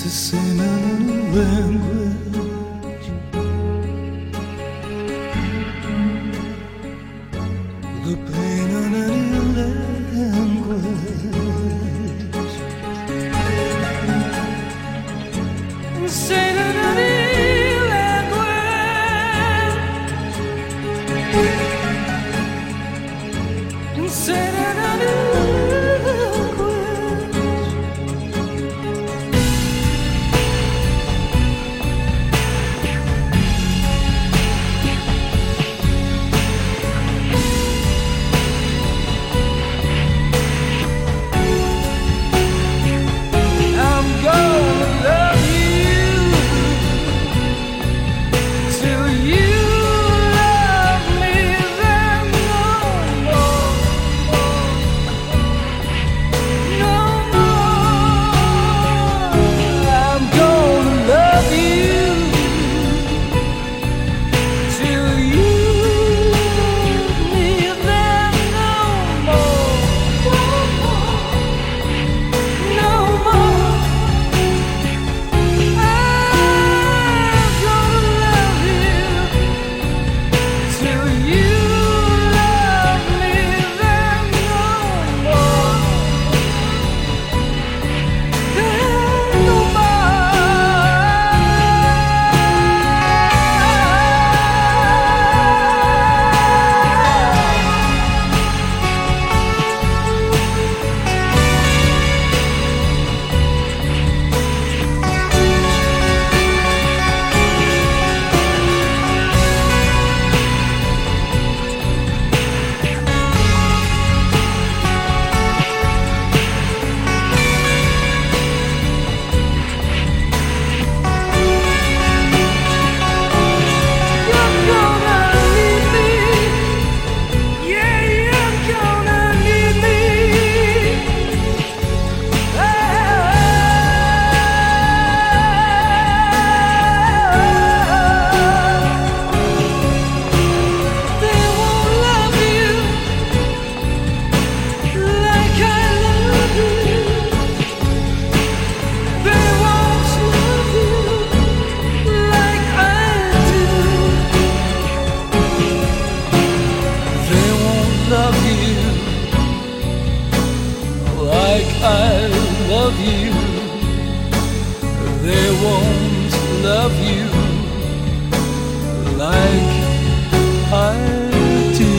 sing a new language. The pain in any language. Sing in any language. Sing in any I love you, they won't love you like I do.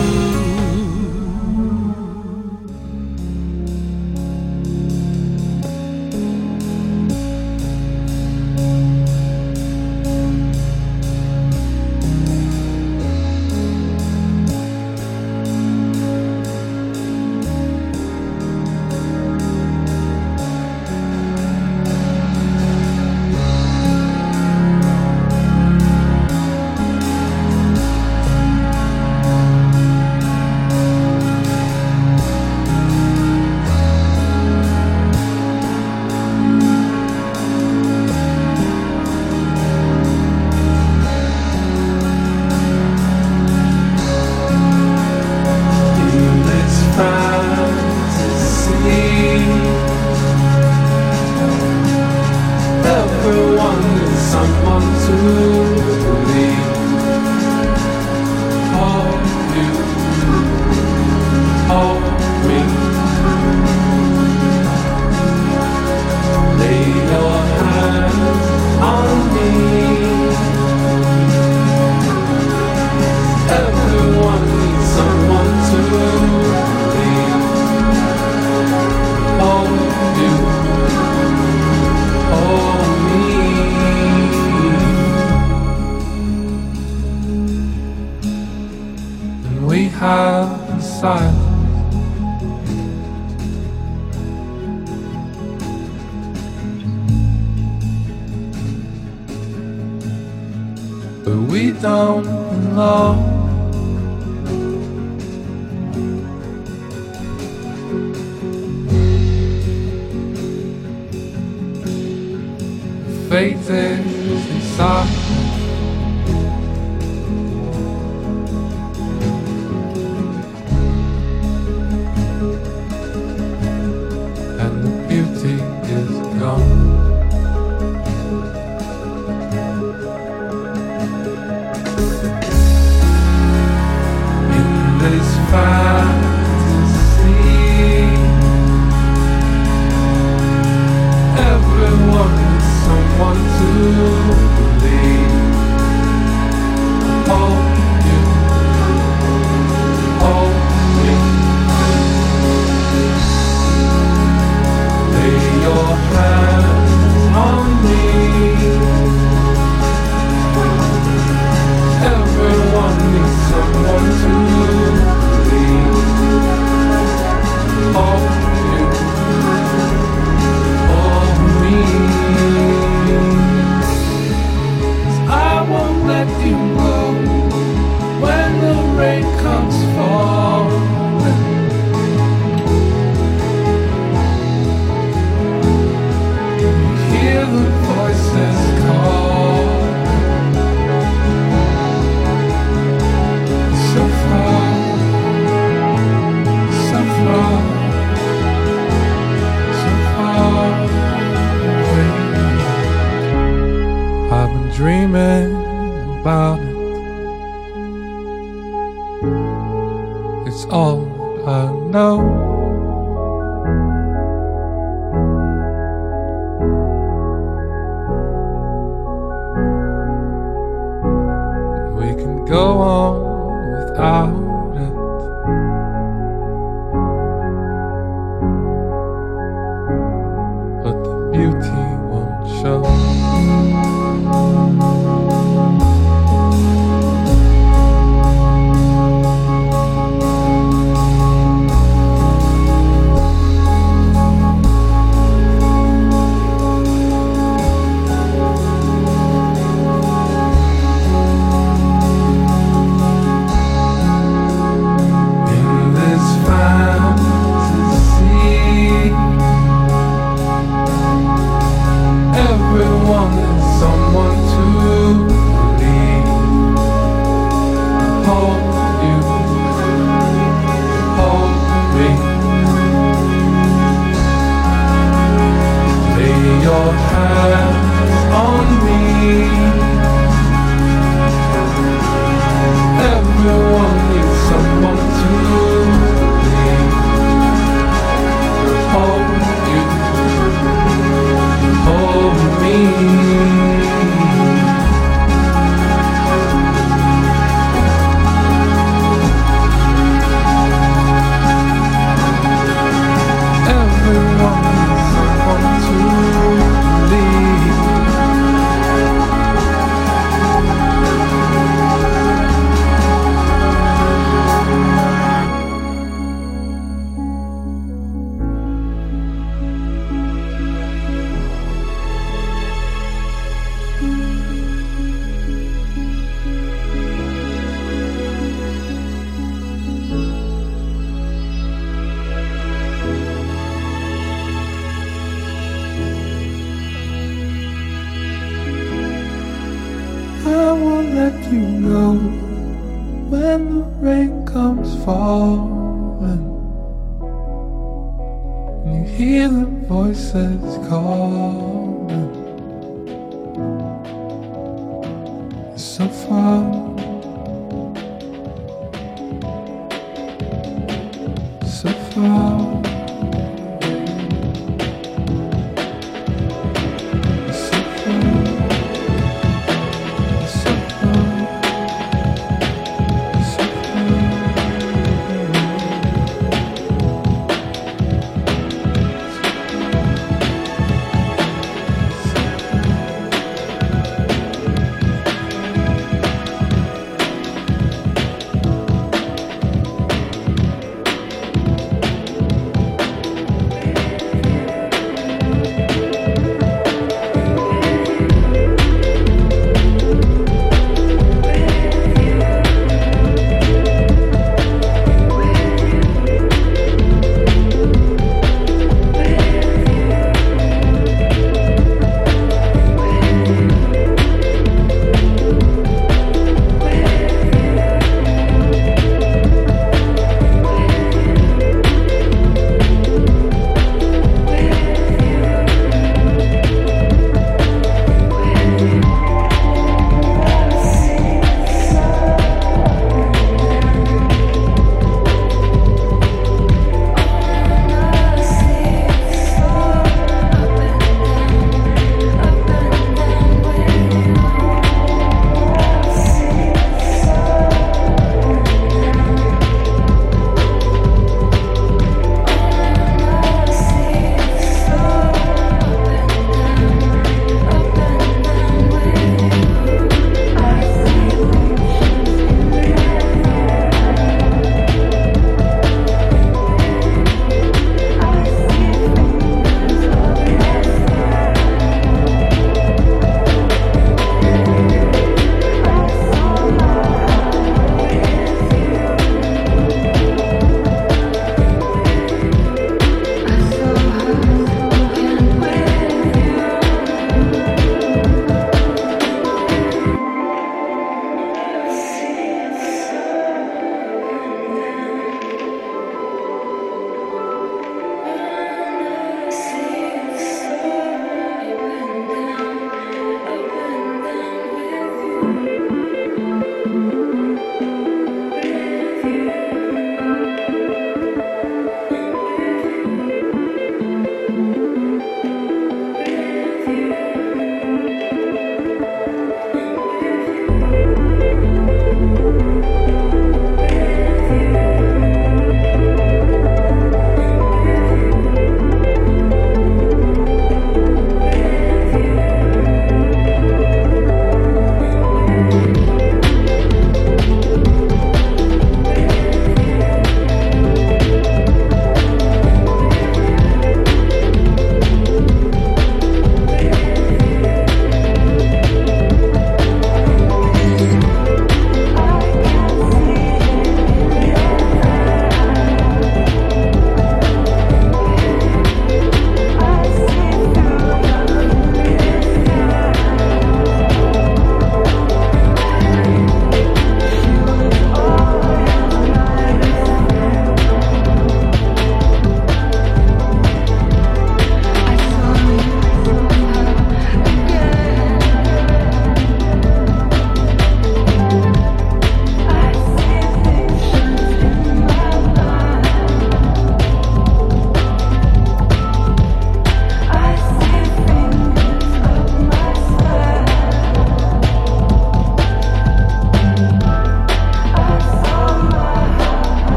Everyone needs someone to believe. Hold you, hold me. Lay your hands on me. Everyone needs someone to believe. Hold you, hold me. We have silence, but we don't know. Faith is inside. And the beauty is gone.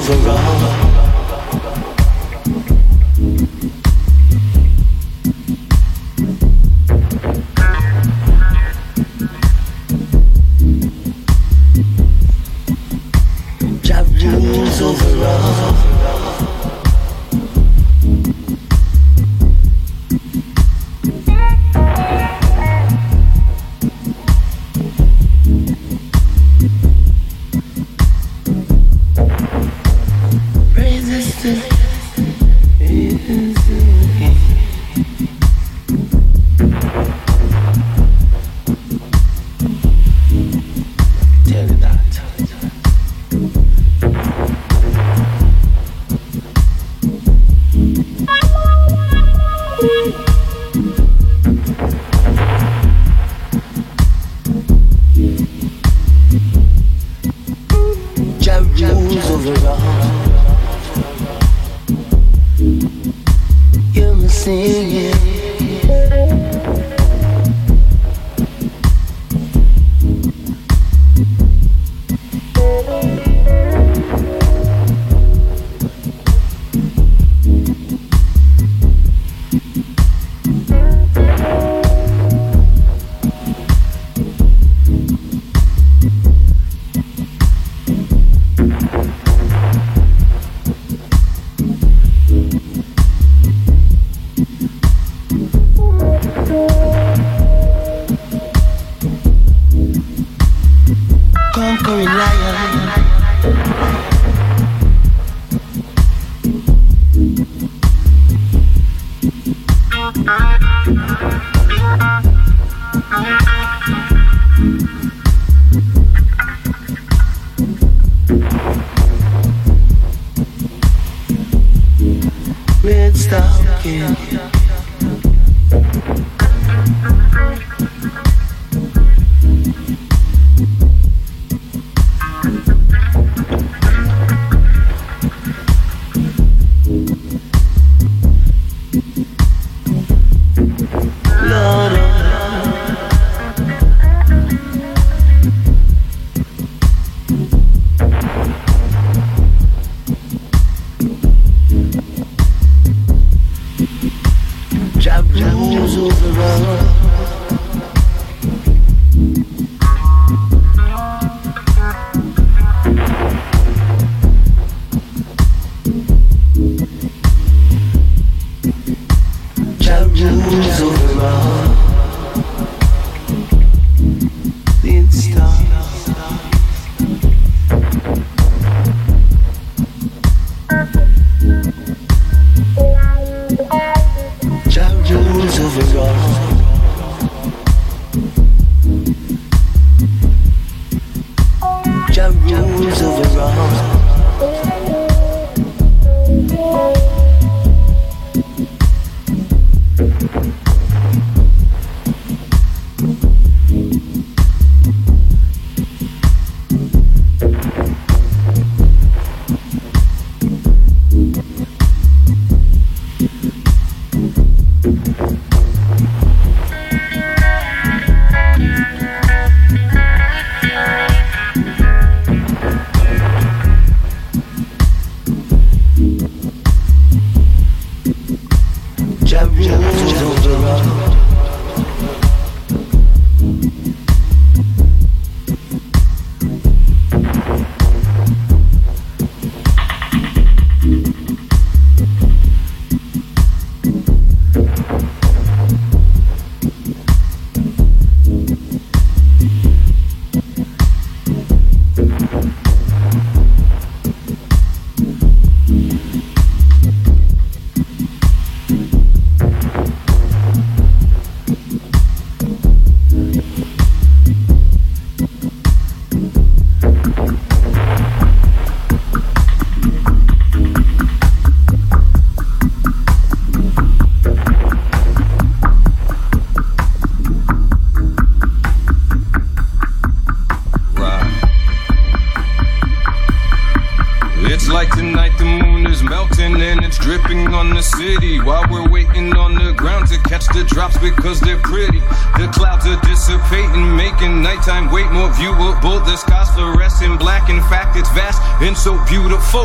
over all. Jah rules over all. sleeping on the city while we're waiting on the ground to catch the drops because they're pretty. The clouds are dissipating, making nighttime way more viewable. The sky's fluorescent black, in fact it's vast and so beautiful.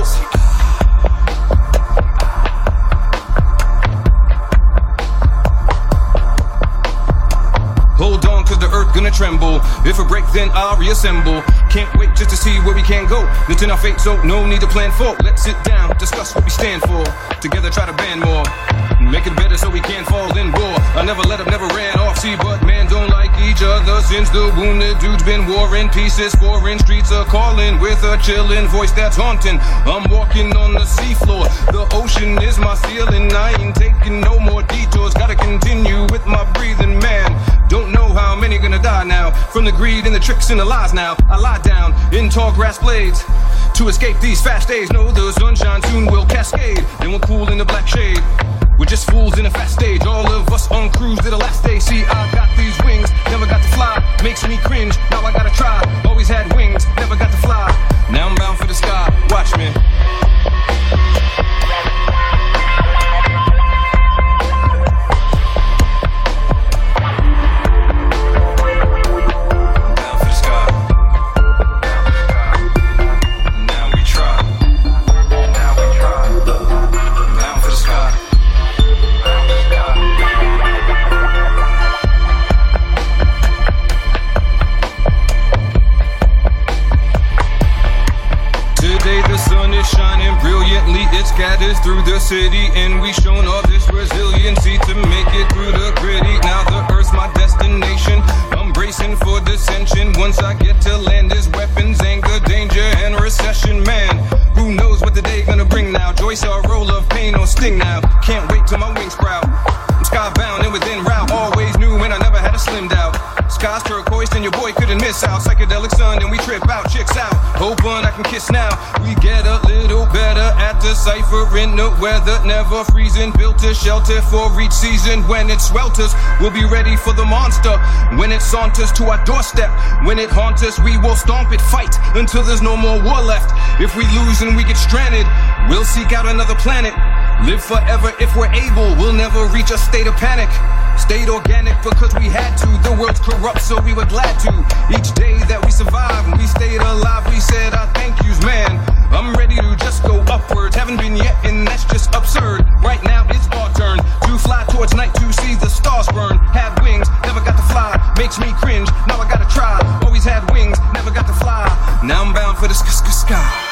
Hold on, cause the earth gonna tremble. If a break, then I'll reassemble. Can't wait just to see where we can go. It's in our fate, so no need to plan for. Let's sit down, discuss what we stand for. Together try to band more. Make it better so we can't fall in war. I never let up, never ran off. See, but man don't like each other since the wounded dude's been warring pieces. Foreign streets are calling with a chillin' voice that's haunting. I'm walking on the seafloor. The ocean is my ceiling. I ain't taking no more detours. Gotta continue with my breathing, man. Don't know how many gonna die now from the greed and the tricks and the lies now. I lie down in tall grass blades to escape these fast days. Know the sunshine soon will cascade, then we'll cool in the black shade. We're just fools in a fast stage. All of us on cruise to the last day. See, I got these wings, never got to fly. Makes me cringe, now I gotta try. Always had wings, never got to fly. Now I'm bound for the sky, watch me. It scatters through the city, and we shown all this resiliency to make it through the gritty. Now the earth's my destination. I'm bracing for dissension. Once I get to land, there's weapons, anger, danger, and recession. Man, who knows what the day gonna bring now? Joy, sorrow, love, pain, or sting now. Can't wait till my wings sprout. I'm skybound and within route. Always knew when I never had a slimmed out. Sky's turquoise and your boy couldn't miss out. Psychedelic sun and we trip out, chicks out. Hoping I can kiss now. We get a little better at deciphering the weather. Never freezing, built a shelter for each season. When it swelters, we'll be ready for the monster. When it saunters to our doorstep, when it haunts us, we will stomp it, fight until there's no more war left. If we lose and we get stranded, we'll seek out another planet. Live forever if we're able. We'll never reach a state of panic. Stayed organic because we had to. The world's corrupt, so we were glad to. Each day that we survived and we stayed alive, we said our thank yous, man. I'm ready to just go upwards. Haven't been yet, and that's just absurd. Right now it's our turn to fly towards night to see the stars burn. Had wings, never got to fly. Makes me cringe, now I gotta try. Always had wings, never got to fly. Now I'm bound for the sky.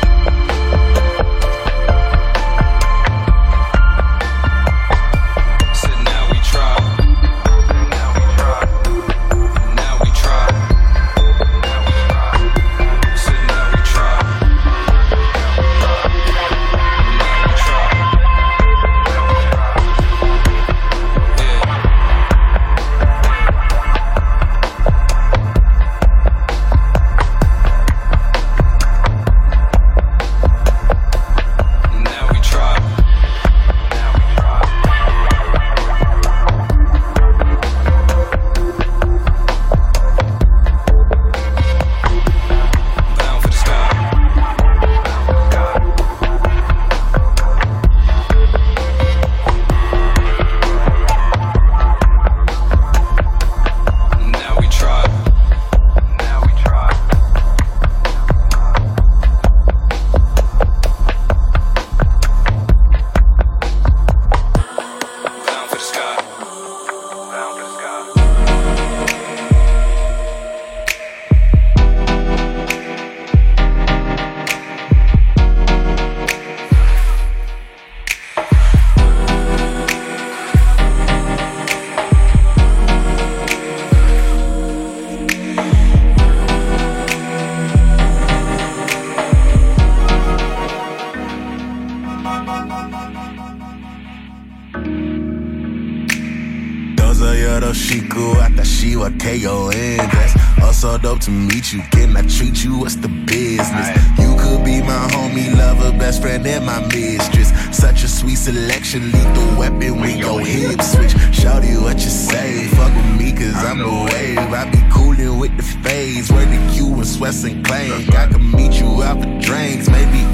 K-O-N, that's also dope to meet you. Can I treat you? What's the business? You could be my homie, lover, best friend, and my mistress. Such a sweet selection, lethal weapon when your hips switch. Shawty, what you say? Fuck with me, cause I'm the wave. I be coolin' with the fades, where the Q and Sweats and Clank. I can meet you out for drinks, maybe eat you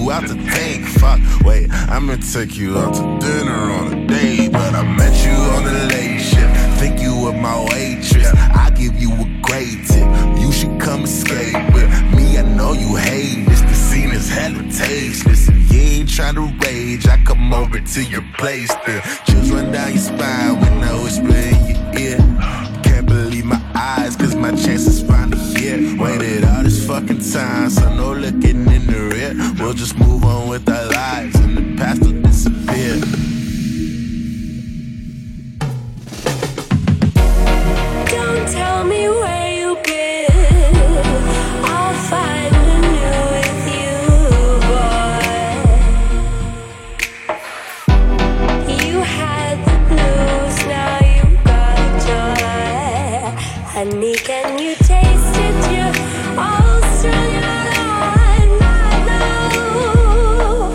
you out to think. Fuck, wait, I'ma take you out to dinner on a date, but I met you on the late shift. Think you were my waitress. I give you a great tip. You should come escape with me. I know you hate this. The scene is hella tasteless. And you ain't tryna rage. I come over to your place. Then chills run down your spine when I whisper in your ear. Can't believe my eyes, cause my chances finally here. Waited all this fucking time, so no looking in the rear. We'll just move on with our lives, and the past will disappear. Don't tell me where you've been. I'll find a new with you, boy. You had the blues, now you got joy. Honey, can you taste it? You're all strung out on my love.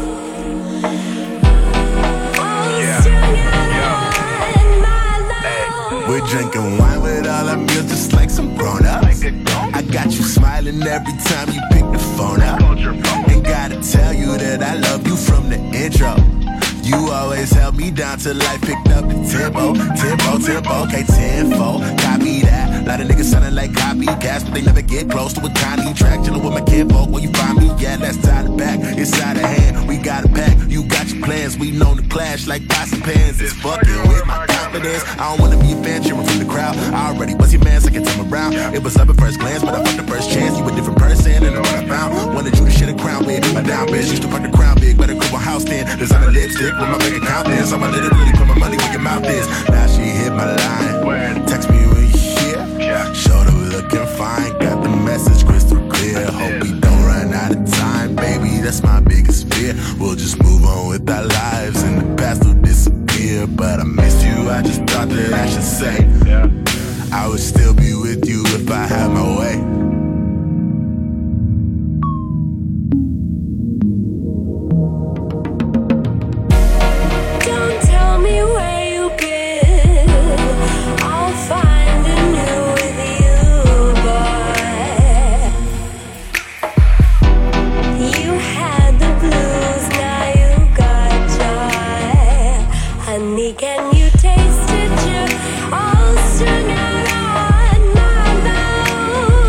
All strung out on my love. We're drinking wine with all our meals just like some grown-ups. I got you smiling every time you pick the phone up. Ain't gotta tell you that I love you from the intro. You always held me down till I picked up the tempo. Okay, tenfold, copy that. Lot of niggas sounding like copycats, but they never get close to a tiny track. Chillin' with my kinfolk, where you find me? Yeah, that's tied it back. It's out of hand, we got a pack. You got your plans, we known to clash like pots and pans. It's fucking with my confidence. I don't wanna be a fan, cheering from the crowd. I already bust your man, second time around. It was love at first glance, but I fucked the first chance. You a different person, and what I found. Wanted you to shit a crown with. My down bitch used to fuck the crown big, better grip a house then. Design a lipstick with my bank account then. So I literally put my money where your mouth is. Now she hit my line. Text me when you here. Showed her looking fine. Got the message crystal clear. Hope we don't run out of time, baby. That's my biggest fear. We'll just move on with our lives, and the past will disappear. But I missed you. I just thought that I should say I would still be with you if I had my way. Don't tell me where you've been. I'll find a new with you, boy. You had the blues, now you got joy. Honey, can you taste it? You're all strung out on my love.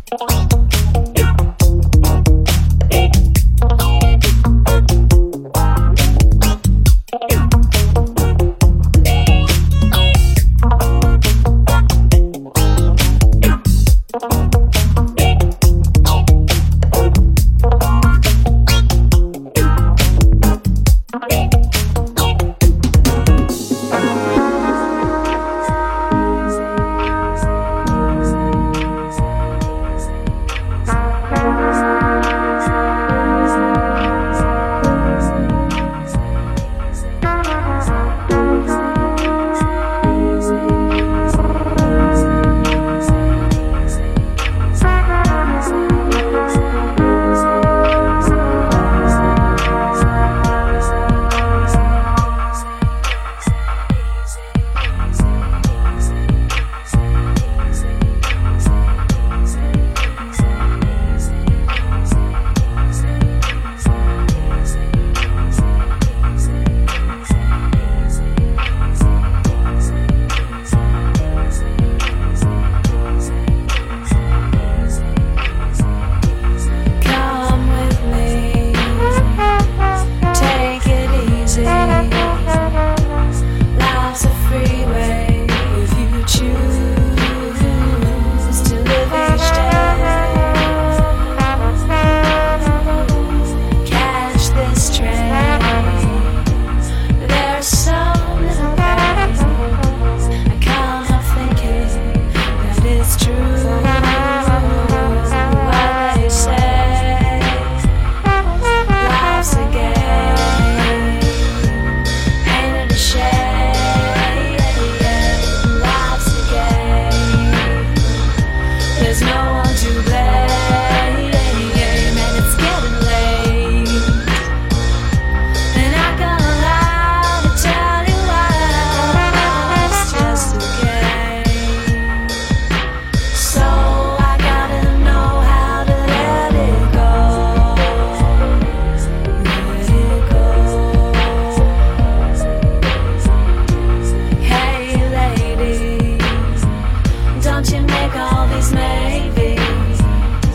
Don't you make all these maybes.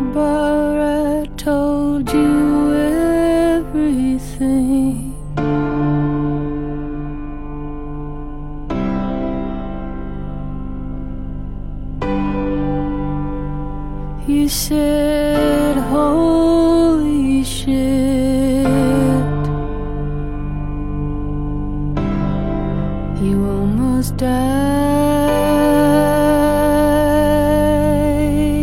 remember I told you everything. You said, holy shit, you almost died.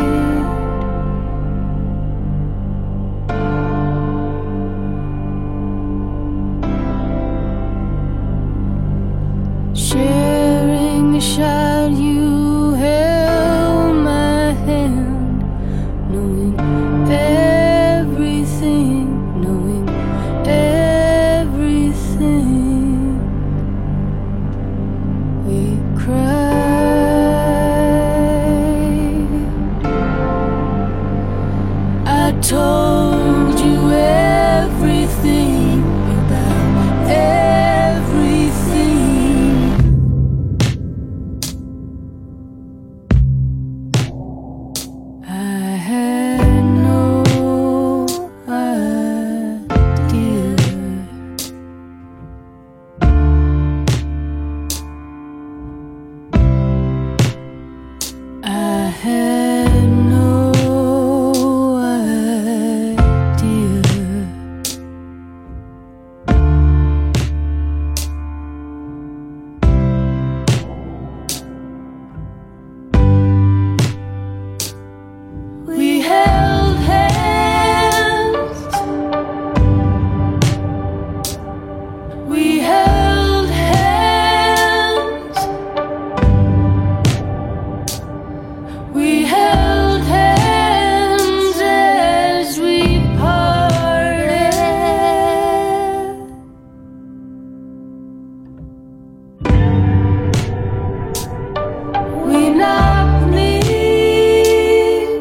Sharing a shot, you held my hand, knowing everything, knowing everything. We cried. I told you everything about everything. I had no idea. I had no idea. We held hands. We held hands. We held hands as we parted. We knocked knees.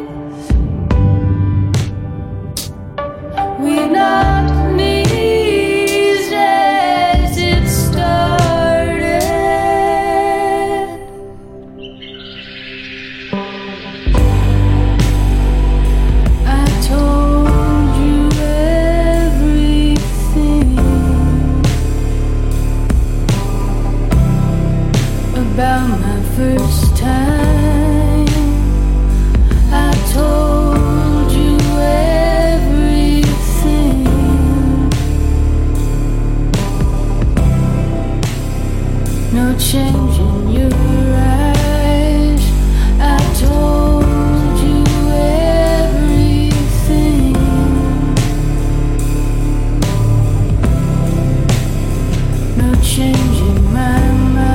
We knocked knees as it started. I told you everything about my first time. I told you everything. No change in your eyes. I told you everything. No change in my mind.